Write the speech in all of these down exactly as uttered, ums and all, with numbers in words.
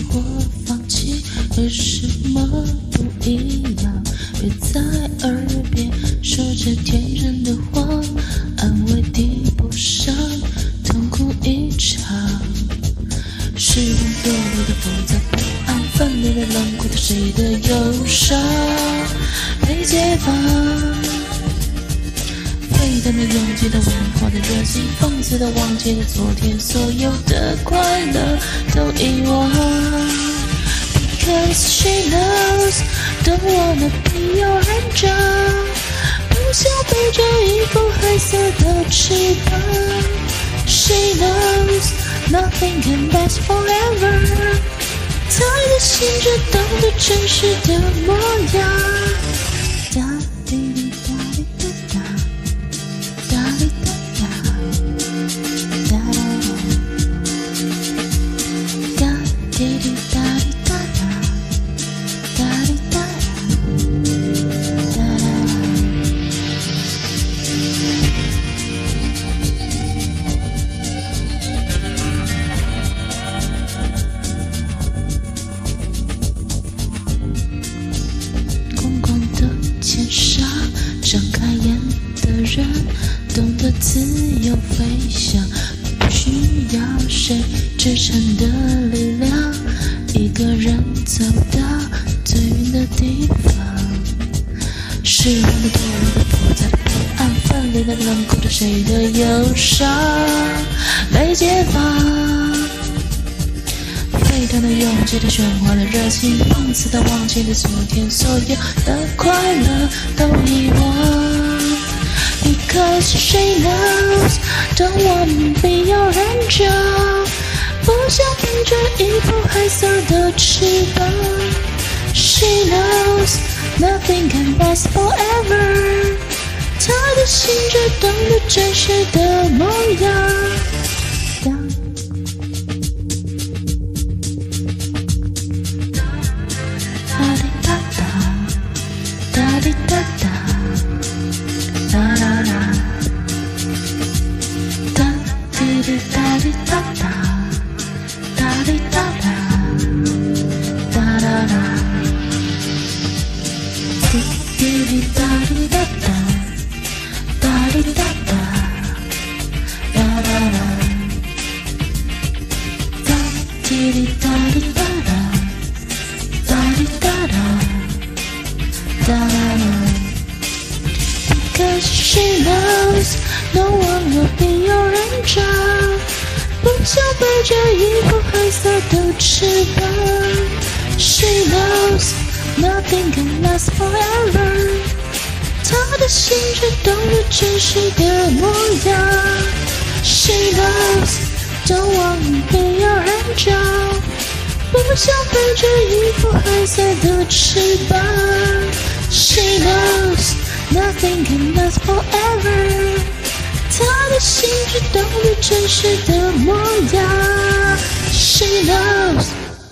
我放棄，為什麼不一樣？別在耳邊說着天真的話，安慰抵不上痛苦一場。是我墮落的複雜不安，分裂的冷酷的誰的憂傷被解放，沸騰的勇氣的文化的熱情，放肆的忘記了昨天，所有的快樂都遺忘。Because she knows, don't wanna be your angel， 不想背着一副黑色的翅膀。She knows nothing can last forever， 她的心只懂得真實的模樣。噠滴滴噠滴噠噠，噠滴噠噠，噠噠噠，噠滴滴噠滴噠噠，噠滴噠噠，噠噠噠。睁開眼的人懂得自由飛翔，不需要誰支撐的力量，一個人走到最遠的地方。是我們墮落的複雜的不安，分裂的冷酷的誰的憂傷被解放，沸騰的勇氣的喧嘩的熱情，放肆的忘記了昨天，所有的快樂都遺忘。Because she knows, don't wanna be your angel， 不想背着一副黑色的翅膀。She knows nothing can last forever， 她的心只懂得真實的模樣。Because she knows no one will be your angel， 不想背着一副黑色的翅膀。She knows nothing can last forever， 她的心只懂得真實的模樣。She knows don't wanna be your angel， 不想背着一副黑色的翅膀。She knows nothing can last forever， 她的心只懂得真實的模樣。She knows。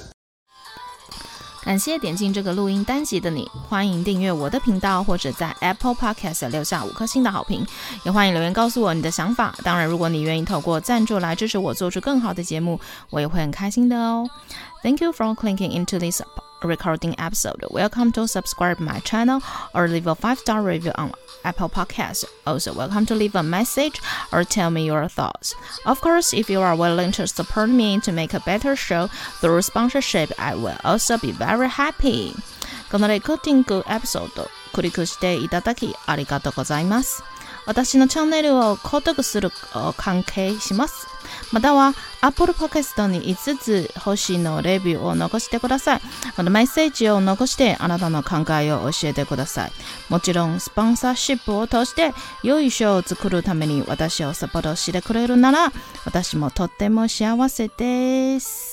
感謝點進這個錄音單集的你，歡迎訂閱我的頻道，或者在 Apple Podcast 留下五顆星的好評，也歡迎留言告訴我你的想法。當然，如果你願意透過贊助來支持我做出更好的節目，我也會很開心的哦。Thank you for clicking into this recording episode. Welcome to subscribe my channel or leave a five-star review on Apple Podcasts. Also, welcome to leave a message or tell me your thoughts. Of course, if you are willing to support me to make a better show through sponsorship, I will also be very happy. このレコーディングエピソード、クリックしていただきありがとうございます。私のチャンネルを購読する関係します。または Apple Podcast にいつつ星のレビューを残してください。またメッセージを残してあなたの考えを教えてください。もちろんスポンサーシップを通して良いショーを作るために私をサポートしてくれるなら私もとっても幸せです。